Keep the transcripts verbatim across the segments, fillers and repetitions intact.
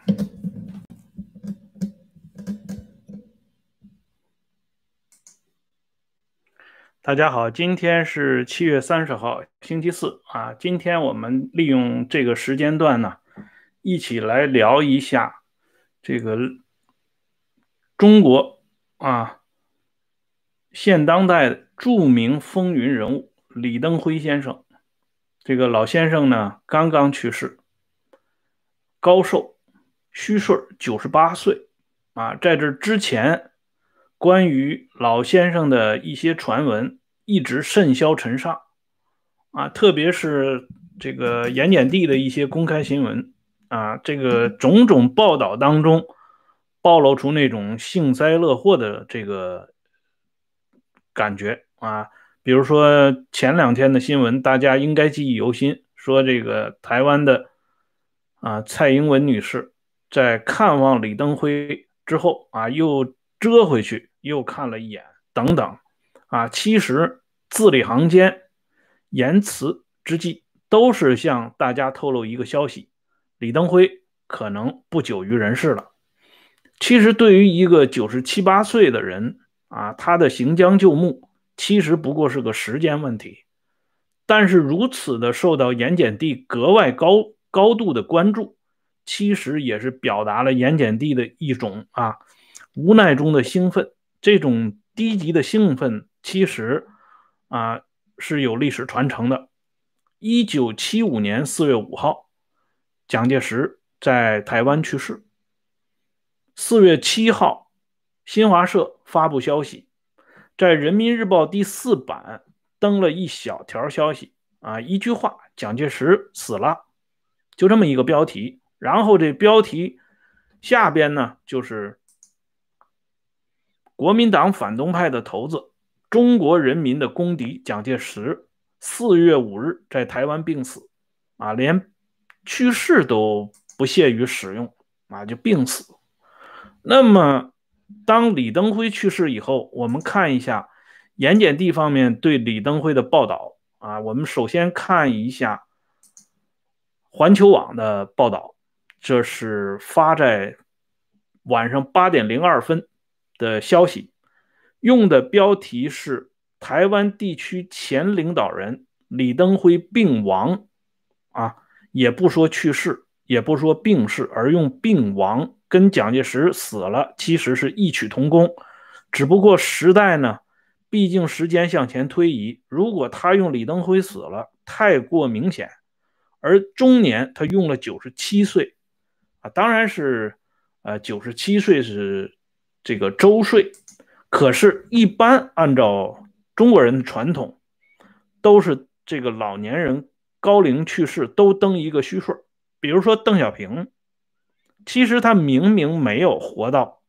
大家好，今天是七月三十号，星期四啊。今天我们利用这个时间段呢，一起来聊一下这个中国啊现当代著名风云人物李登辉先生。这个老先生呢，刚刚去世，高寿，虚岁九十八岁啊。在这之前，关于老先生的一些传闻一直甚嚣尘上啊，特别是这个盐碱地的一些公开新闻啊，这个种种报道当中暴露出那种幸灾乐祸的这个感觉啊。比如说前两天的新闻，大家应该记忆犹新，说这个台湾的啊蔡英文女士在看望李登辉之后啊，又折回去，又看了一眼，等等啊。其实字里行间、言辞之际，都是向大家透露一个消息：李登辉可能不久于人世了。其实对于一个九十七八岁的人啊，他的行将就木，其实不过是个时间问题。但是如此的受到盐碱地格外高高度的关注，其实也是表达了盐碱地的一种啊无奈中的兴奋。这种低级的兴奋，其实啊是有历史传承的。一九七五年四月五号，蒋介石在台湾去世。四月七号，新华社发布消息，在人民日报第四版登了一小条消息啊，一句话：蒋介石死了，就这么一个标题。然后这标题下边呢，就是国民党反动派的头子，中国人民的公敌蒋介石四月五日在台湾病死啊，连去世都不屑于使用啊，就病死。那么，当李登辉去世以后，我们看一下盐碱地方面对李登辉的报道啊。我们首先看一下环球网的报道，这是发在晚上八点零二分的消息，用的标题是台湾地区前领导人李登辉病亡啊，也不说去世，也不说病逝，而用病亡，跟蒋介石死了其实是异曲同工。只不过时代呢，毕竟时间向前推移，如果他用李登辉死了，太过明显。而中年他用了九十七岁啊，当然是呃九十七岁是这个周岁，可是，一般按照中国人的传统，都是这个老年人高龄去世都登一个虚岁。比如说邓小平，其实他明明没有活到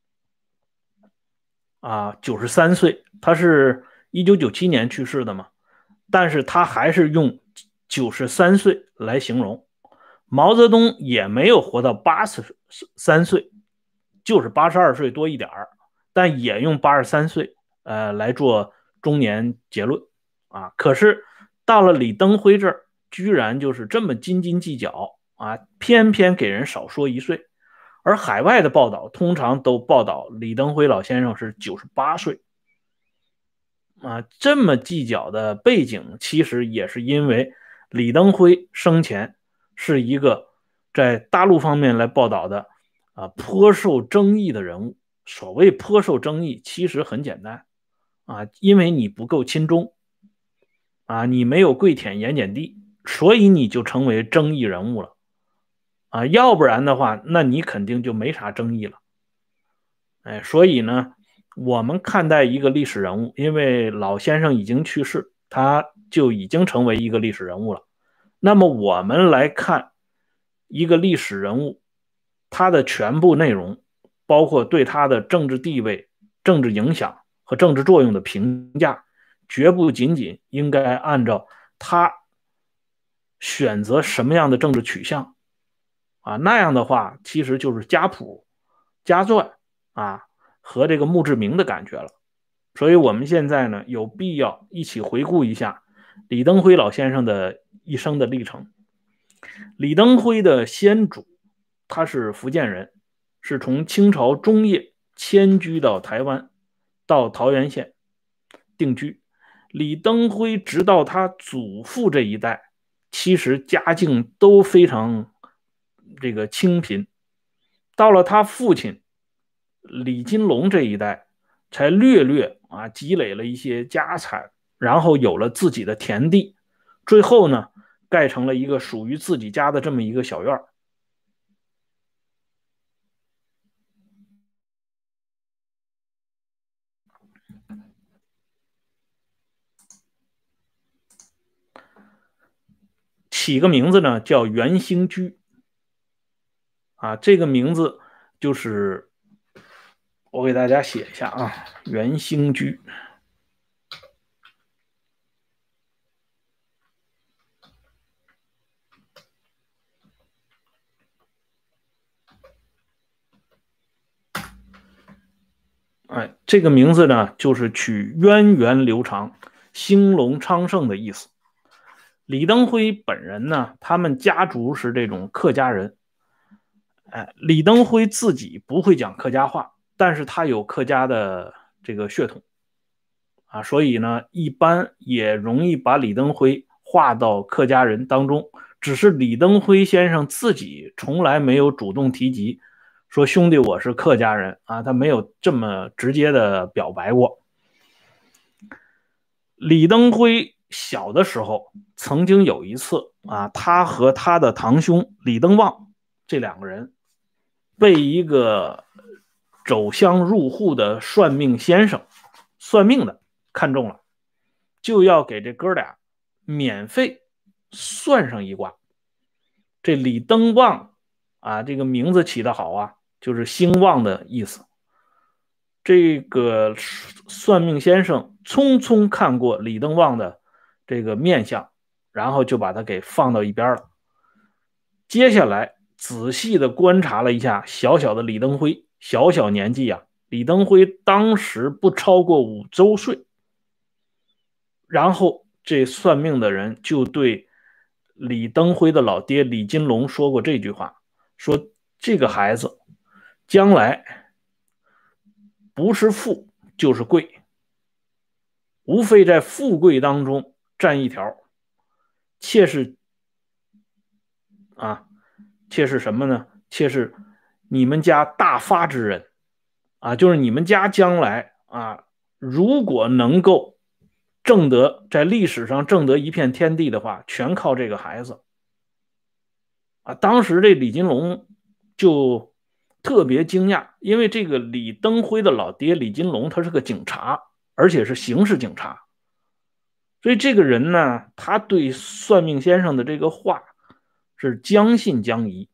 啊九十三岁，他是一九九七年去世的嘛，但是他还是用九十三岁来形容。毛泽东也没有活到八十三岁，就是八十二岁多一点儿，但也用八十三岁呃来做中年结论啊。可是到了李登辉这儿，居然就是这么斤斤计较啊，偏偏给人少说一岁。而海外的报道通常都报道李登辉老先生是九十八岁啊，这么计较的背景，其实也是因为李登辉生前是一个在大陆方面来报道的啊颇受争议的人物。所谓颇受争议，其实很简单啊，因为你不够亲中啊，你没有跪舔盐碱地，所以你就成为争议人物了啊，要不然的话，那你肯定就没啥争议了。哎，所以呢，我们看待一个历史人物，因为老先生已经去世，他就已经成为一个历史人物了。那么我们来看一个历史人物，他的全部内容，包括对他的政治地位、政治影响和政治作用的评价，绝不仅仅应该按照他选择什么样的政治取向啊，那样的话其实就是家谱、家传啊和这个墓志铭的感觉了。所以我们现在呢，有必要一起回顾一下李登辉老先生的一生的历程。李登辉的先祖他是福建人，是从清朝中叶迁居到台湾，到桃源县定居。李登辉直到他祖父这一代，其实家境都非常这个清贫，到了他父亲李金龙这一代，才略略啊积累了一些家产，然后有了自己的田地，最后呢，盖成了一个属于自己家的这么一个小院。起个名字呢叫元兴居啊，这个名字就是我给大家写一下啊，元兴居。哎，这个名字呢，就是取源远流长、兴隆昌盛的意思。李登辉本人呢，他们家族是这种客家人。哎，李登辉自己不会讲客家话，但是他有客家的这个血统啊，所以呢，一般也容易把李登辉划到客家人当中。只是李登辉先生自己从来没有主动提及说兄弟我是客家人啊，他没有这么直接的表白过。李登辉小的时候曾经有一次啊，他和他的堂兄李登旺这两个人被一个走乡入户的算命先生算命的看中了，就要给这哥俩免费算上一卦。这李登旺啊，这个名字起得好啊，就是兴旺的意思。这个算命先生匆匆看过李登旺的这个面相，然后就把他给放到一边了。接下来仔细的观察了一下小小的李登辉，小小年纪啊，李登辉当时不超过五周岁。然后这算命的人就对李登辉的老爹李金龙说过这句话，说这个孩子将来不是富就是贵，无非在富贵当中占一条，妾是啊，妾是什么呢？妾是你们家大发之人啊，就是你们家将来啊，如果能够挣得在历史上挣得一片天地的话，全靠这个孩子啊。当时这李金龙就特别惊讶，因为这个李登辉的老爹李金龙他是个警察，而且是刑事警察，所以这个人呢，他对算命先生的这个话是将信将疑。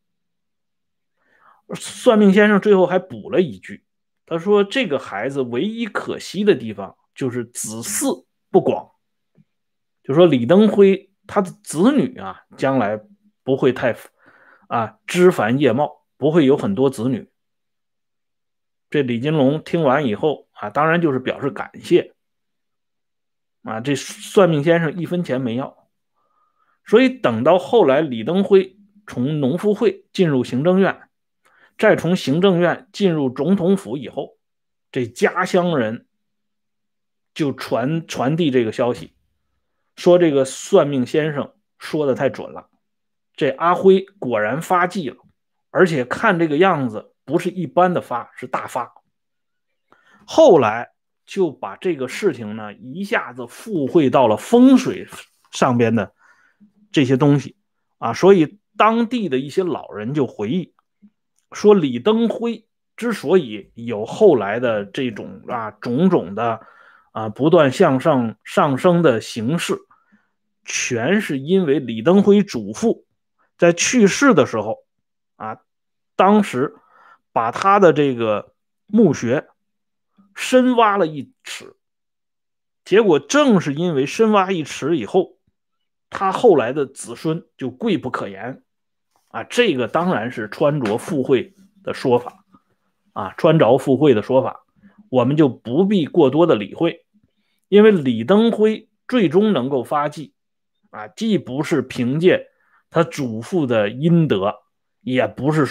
算命先生最后还补了一句，他说这个孩子唯一可惜的地方就是子嗣不广，就说李登辉他的子女啊，将来不会太啊枝繁叶茂，不会有很多子女。这李金龙听完以后啊，当然就是表示感谢啊，这算命先生一分钱没要。所以等到后来李登辉从农夫会进入行政院，再从行政院进入总统府以后，这家乡人就传传递这个消息，说这个算命先生说的太准了，这阿辉果然发迹了，而且看这个样子不是一般的发，是大发。后来就把这个事情呢一下子附会到了风水上边的这些东西啊，所以当地的一些老人就回忆说，李登辉之所以有后来的这种啊种种的啊不断向上上升的形势，全是因为李登辉祖父在去世的时候啊，当时把他的这个墓穴深挖了一尺，结果正是因为深挖一尺以后，他后来的子孙就贵不可言啊。这个当然是穿着附会的说法啊，穿着附会的说法，我们就不必过多的理会。因为李登辉最终能够发迹啊，既不是凭借他祖父的阴德，也不是说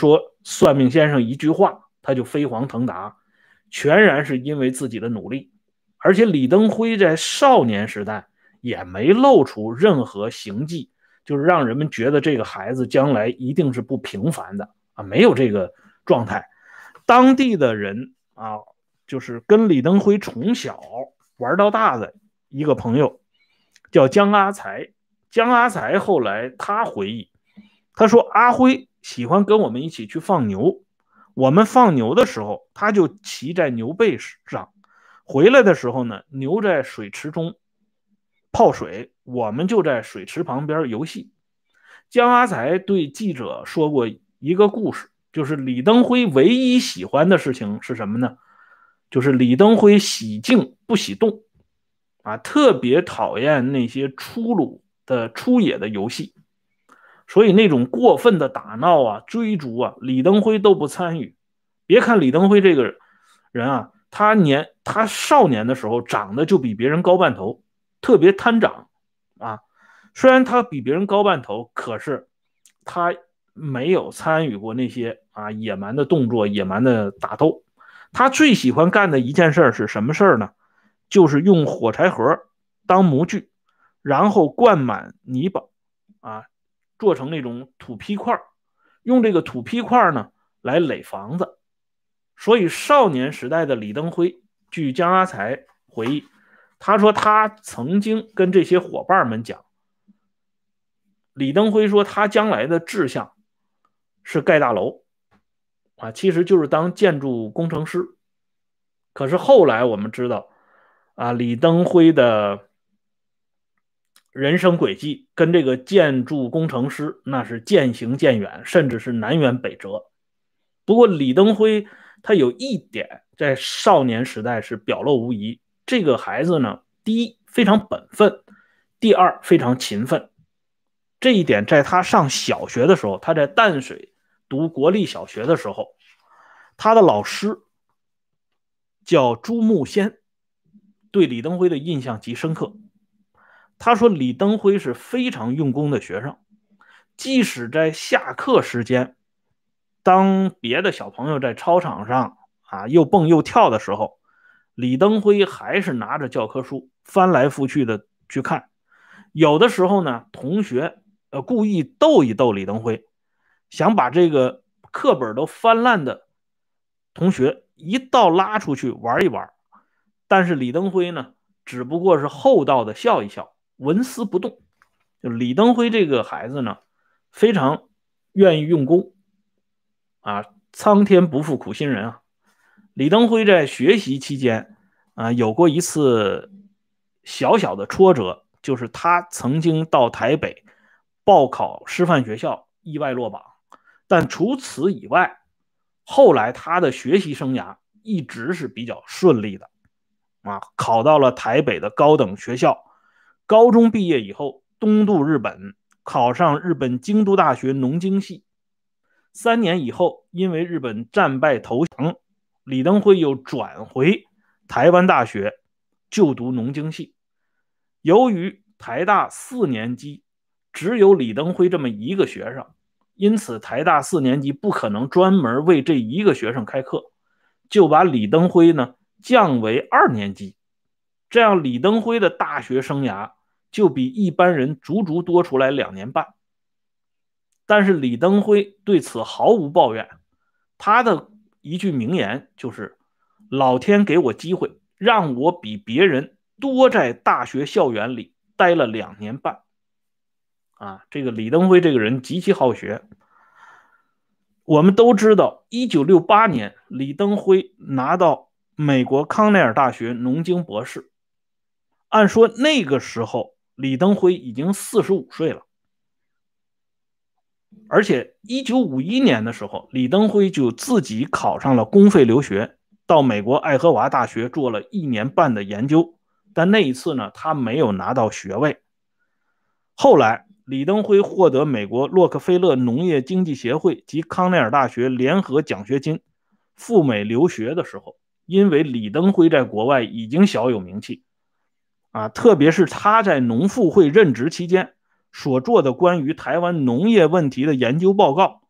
算命先生一句话，他就飞黄腾达，全然是因为自己的努力。而且李登辉在少年时代也没露出任何行迹，就是让人们觉得这个孩子将来一定是不平凡的啊，没有这个状态。当地的人啊，就是跟李登辉从小玩到大的一个朋友叫江阿才。江阿才后来他回忆，他说阿辉喜欢跟我们一起去放牛，我们放牛的时候他就骑在牛背上，回来的时候呢，牛在水池中泡水，我们就在水池旁边游戏。江阿才对记者说过一个故事，就是李登辉唯一喜欢的事情是什么呢？就是李登辉喜静不喜动啊，特别讨厌那些粗鲁的出野的游戏，所以那种过分的打闹啊、追逐啊，李登辉都不参与。别看李登辉这个人啊，他年他少年的时候长得就比别人高半头，特别贪长啊。虽然他比别人高半头，可是他没有参与过那些啊野蛮的动作、野蛮的打斗。他最喜欢干的一件事是什么事呢？就是用火柴盒当模具，然后灌满泥巴啊，做成那种土坯块，用这个土坯块呢来垒房子。所以少年时代的李登辉，据江阿才回忆，他说他曾经跟这些伙伴们讲，李登辉说他将来的志向是盖大楼啊，其实就是当建筑工程师。可是后来我们知道啊，李登辉的人生轨迹跟这个建筑工程师那是渐行渐远，甚至是南辕北辙。不过李登辉他有一点在少年时代是表露无遗，这个孩子呢，第一非常本分，第二非常勤奋。这一点在他上小学的时候，他在淡水读国立小学的时候，他的老师叫朱木先，对李登辉的印象极深刻。他说李登辉是非常用功的学生，即使在下课时间，当别的小朋友在操场上啊又蹦又跳的时候，李登辉还是拿着教科书翻来覆去的去看。有的时候呢，同学呃故意逗一逗李登辉，想把这个课本都翻烂的同学一道拉出去玩一玩。但是李登辉呢，只不过是厚道的笑一笑，纹丝不动。就李登辉这个孩子呢，非常愿意用功啊，苍天不负苦心人啊。李登辉在学习期间啊，有过一次小小的挫折，就是他曾经到台北报考师范学校，意外落榜。但除此以外，后来他的学习生涯一直是比较顺利的啊，考到了台北的高等学校。高中毕业以后，东渡日本，考上日本京都大学农经系。三年以后，因为日本战败投降，李登辉又转回台湾大学就读农经系。由于台大四年级只有李登辉这么一个学生，因此台大四年级不可能专门为这一个学生开课，就把李登辉呢降为二年级。这样李登辉的大学生涯就比一般人足足多出来两年半。但是李登辉对此毫无抱怨，他的一句名言就是老天给我机会，让我比别人多在大学校园里待了两年半啊，这个李登辉这个人极其好学。我们都知道一九六八年李登辉拿到美国康奈尔大学农经博士，按说那个时候李登辉已经四十五岁了。而且一九五一年的时候，李登辉就自己考上了公费留学，到美国爱荷华大学做了一年半的研究。但那一次呢，他没有拿到学位。后来李登辉获得美国洛克菲勒农业经济协会及康奈尔大学联合奖学金赴美留学的时候，因为李登辉在国外已经小有名气啊，特别是他在农复会任职期间所做的关于台湾农业问题的研究报告，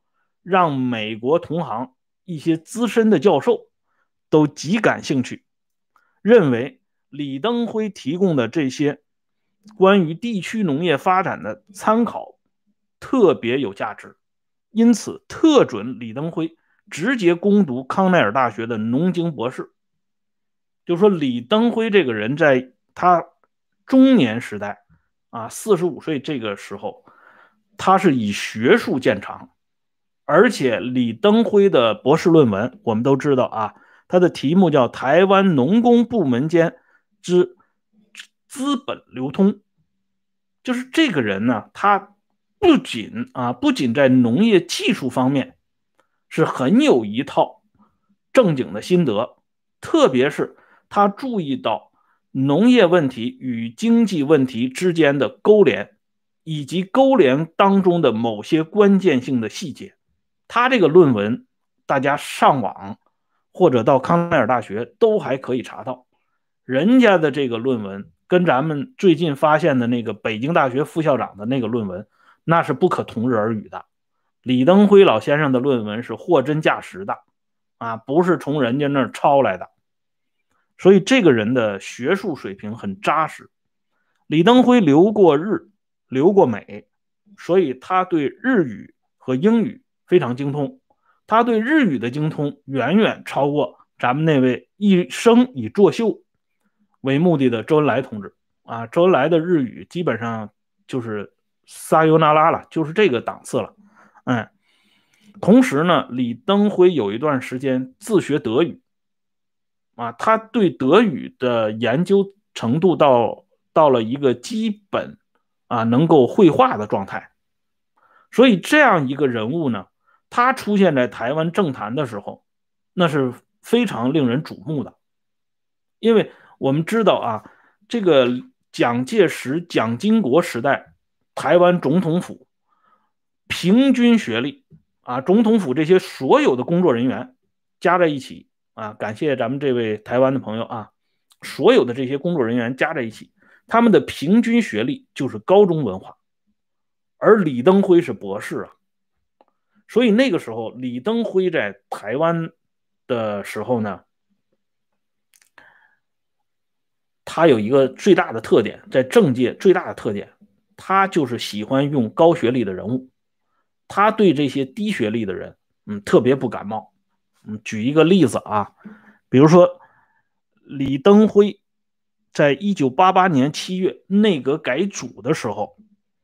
让美国同行一些资深的教授都极感兴趣，认为李登辉提供的这些关于地区农业发展的参考特别有价值，因此特准李登辉直接攻读康奈尔大学的农经博士。就说李登辉这个人在他中年时代啊，四十五岁这个时候，他是以学术见长，而且李登辉的博士论文我们都知道啊，他的题目叫台湾农工部门间之资本流通。就是这个人呢，他不仅啊，不仅在农业技术方面是很有一套正经的心得，特别是他注意到农业问题与经济问题之间的勾连，以及勾连当中的某些关键性的细节。他这个论文大家上网或者到康奈尔大学都还可以查到，人家的这个论文跟咱们最近发现的那个北京大学副校长的那个论文那是不可同日而语的。李登辉老先生的论文是货真价实的啊，不是从人家那儿抄来的，所以这个人的学术水平很扎实。李登辉留过日，留过美，所以他对日语和英语非常精通。他对日语的精通远远超过咱们那位一生以作秀为目的的周恩来同志啊。周恩来的日语基本上就是撒尤那拉了，就是这个档次了。嗯，同时呢，李登辉有一段时间自学德语啊，他对德语的研究程度到到了一个基本啊能够绘画的状态。所以这样一个人物呢，他出现在台湾政坛的时候，那是非常令人瞩目的。因为我们知道啊，这个蒋介石、蒋经国时代，台湾总统府平均学历啊，总统府这些所有的工作人员加在一起啊，感谢咱们这位台湾的朋友啊，所有的这些工作人员加在一起，他们的平均学历就是高中文化，而李登辉是博士啊。所以那个时候李登辉在台湾的时候呢，他有一个最大的特点，在政界最大的特点，他就是喜欢用高学历的人物，他对这些低学历的人嗯特别不感冒。嗯，举一个例子啊，比如说李登辉在一九八八年七月内阁改组的时候，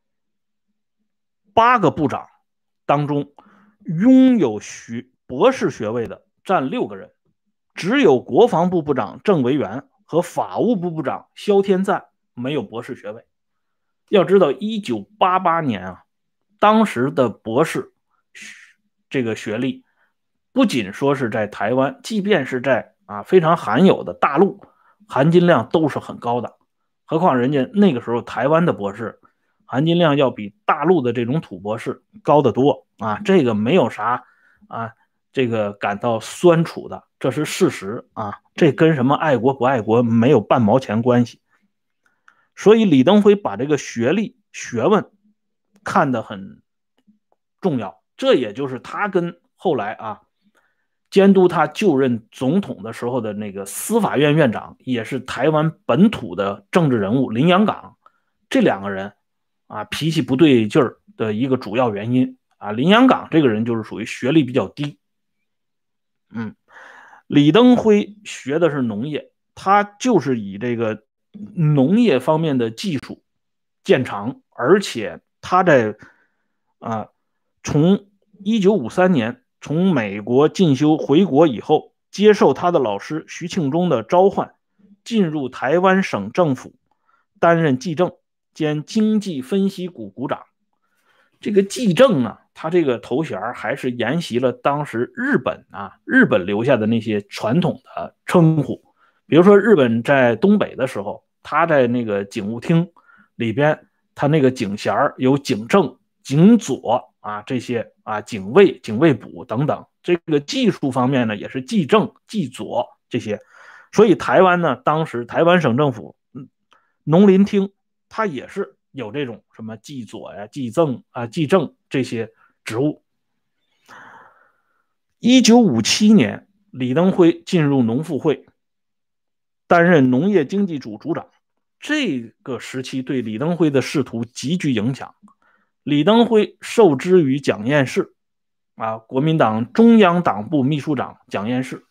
八个部长当中拥有学博士学位的占六个人，只有国防部部长郑维元和法务部部长萧天赞没有博士学位。要知道一九八八年啊，当时的博士这个学历不仅说是在台湾，即便是在啊非常罕有的大陆，含金量都是很高的。何况人家那个时候台湾的博士含金量要比大陆的这种土博士高得多啊，这个没有啥啊这个感到酸楚的，这是事实啊，这跟什么爱国不爱国没有半毛钱关系。所以李登辉把这个学历学问看得很重要，这也就是他跟后来啊监督他就任总统的时候的那个司法院院长，也是台湾本土的政治人物林洋港，这两个人啊脾气不对劲儿的一个主要原因啊。林洋港这个人就是属于学历比较低。嗯，李登辉学的是农业，他就是以这个农业方面的技术见长，而且他在啊从一九五三年从美国进修回国以后，接受他的老师徐庆忠的召唤，进入台湾省政府，担任技政兼经济分析股股长。这个技政啊，他这个头衔还是沿袭了当时日本啊日本留下的那些传统的称呼。比如说日本在东北的时候，他在那个警务厅里边，他那个警衔有警政、警佐啊这些啊警卫、警卫补等等。这个技术方面呢，也是技政、技佐这些。所以台湾呢，当时台湾省政府农林厅，它也是有这种什么技佐呀、技政啊、技政这些职务。 一九五七年，李登辉进入农复会，担任农业经济组组长。这个时期对李登辉的仕途极具影响。李登辉受之于蒋彦士，啊，国民党中央党部秘书长蒋彦士，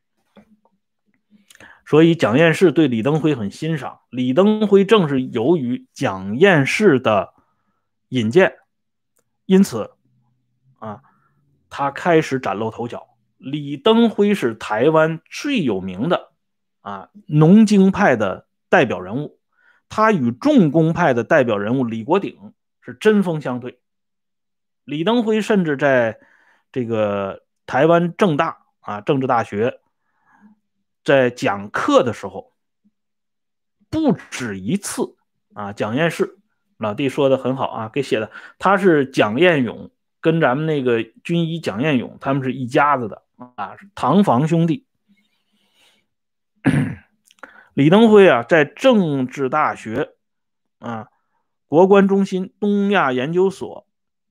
所以蒋彦士对李登辉很欣赏。李登辉正是由于蒋彦士的引荐，因此啊，他开始崭露头角。李登辉是台湾最有名的啊农经派的代表人物，他与重工派的代表人物李国鼎是针锋相对。李登辉甚至在这个台湾政大啊政治大学在讲课的时候，不止一次啊，蒋彦士老弟说的很好啊，给写的，他是蒋彦勇跟咱们那个军医蒋彦勇，他们是一家子的啊，堂房兄弟。李登辉啊，在政治大学啊国关中心东亚研究所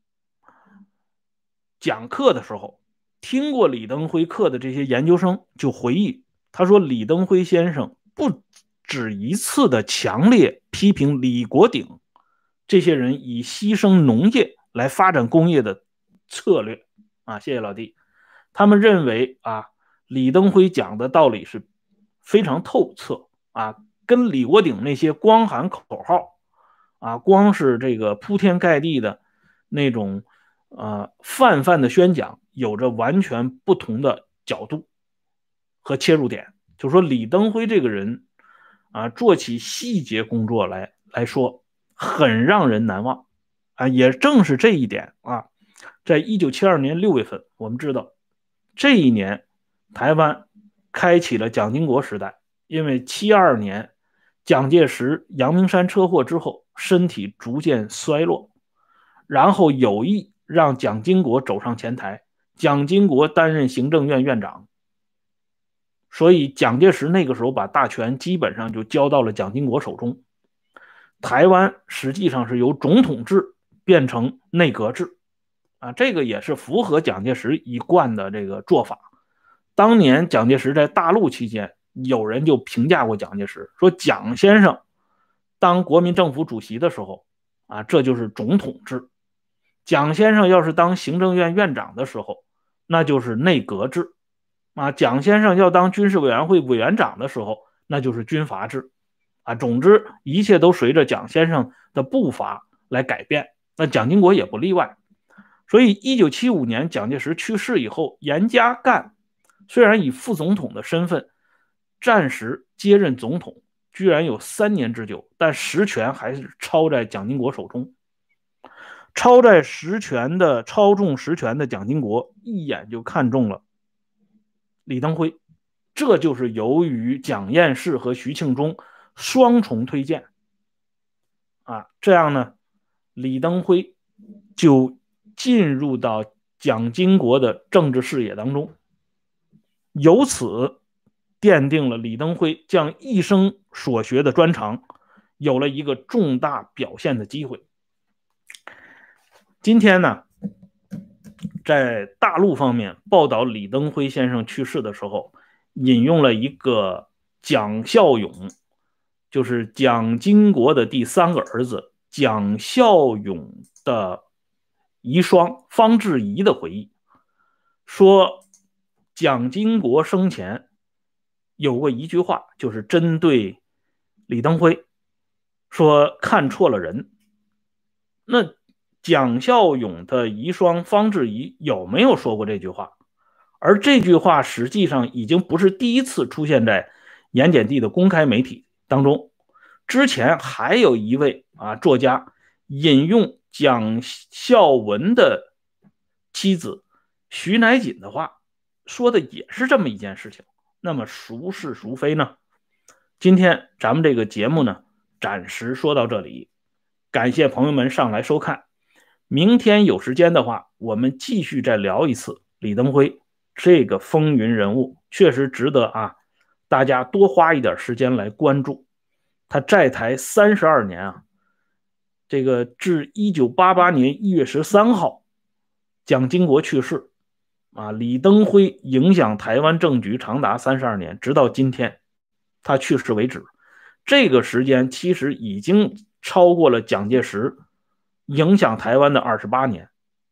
讲课的时候，听过李登辉课的这些研究生就回忆，他说李登辉先生不止一次的强烈批评李国鼎这些人以牺牲农业来发展工业的策略啊，谢谢老弟。他们认为啊，李登辉讲的道理是非常透彻啊，跟李国鼎那些光喊口号啊，光是这个铺天盖地的那种呃泛泛的宣讲有着完全不同的角度和切入点。就说李登辉这个人啊，做起细节工作来来说很让人难忘啊。也正是这一点啊，在一九七二年六月份，我们知道这一年台湾开启了蒋经国时代。因为七二年蒋介石阳明山车祸之后身体逐渐衰落，然后有意让蒋经国走上前台，蒋经国担任行政院院长，所以蒋介石那个时候把大权基本上就交到了蒋经国手中。台湾实际上是由总统制变成内阁制啊，这个也是符合蒋介石一贯的这个做法。当年蒋介石在大陆期间，有人就评价过蒋介石，说蒋先生当国民政府主席的时候啊，这就是总统制；蒋先生要是当行政院院长的时候，那就是内阁制啊；蒋先生要当军事委员会委员长的时候，那就是军阀制啊。总之，一切都随着蒋先生的步伐来改变，那蒋经国也不例外。所以一九七五年蒋介石去世以后，严家淦虽然以副总统的身份暂时接任总统，居然有三年之久，但实权还是操在蒋经国手中。操在实权的操纵实权的蒋经国一眼就看中了李登辉，这就是由于蒋彦士和徐庆忠双重推荐啊，这样呢，李登辉就进入到蒋经国的政治视野当中，由此奠定了李登辉将一生所学的专长有了一个重大表现的机会。今天呢，在大陆方面报道李登辉先生去世的时候，引用了一个蒋孝勇，就是蒋经国的第三个儿子蒋孝勇的遗孀方志怡的回忆，说蒋经国生前有过一句话，就是针对李登辉，说看错了人。那蒋孝勇的遗孀方志怡有没有说过这句话？而这句话实际上已经不是第一次出现在盐碱地的公开媒体当中，之前还有一位啊作家引用蒋孝文的妻子徐乃瑾的话，说的也是这么一件事情。那么孰是孰非呢？今天咱们这个节目呢，暂时说到这里，感谢朋友们上来收看。明天有时间的话，我们继续再聊一次李登辉这个风云人物，确实值得啊大家多花一点时间来关注。他在台三十二年啊，这个至一九八八年一月十三号蒋经国去世啊，李登辉影响台湾政局长达三十二年，直到今天他去世为止。这个时间其实已经超过了蒋介石影响台湾的二十八年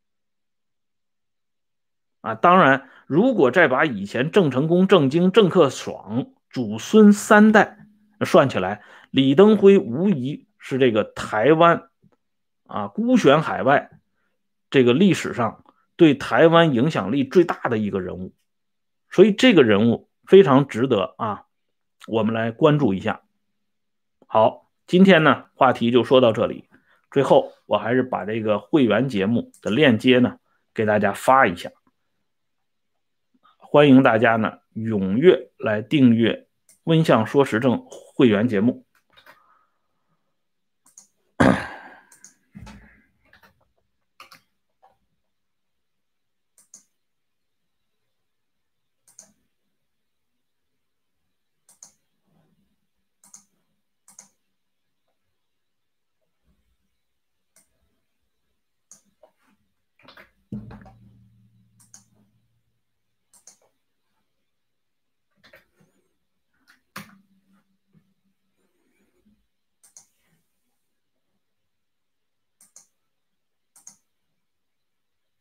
啊。当然，如果再把以前郑成功、郑经、郑克爽祖孙三代算起来，李登辉无疑是这个台湾啊孤悬海外这个历史上对台湾影响力最大的一个人物，所以这个人物非常值得啊我们来关注一下。好，今天呢话题就说到这里。最后，我还是把这个会员节目的链接呢给大家发一下，欢迎大家呢踊跃来订阅温相说时政会员节目。